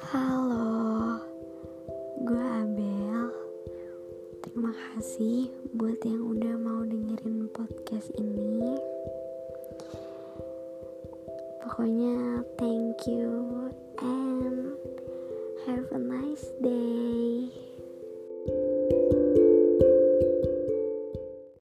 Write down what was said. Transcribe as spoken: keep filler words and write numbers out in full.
Halo, gue Abel. Terima kasih buat yang udah mau dengerin podcast ini. Pokoknya thank you and have a nice day.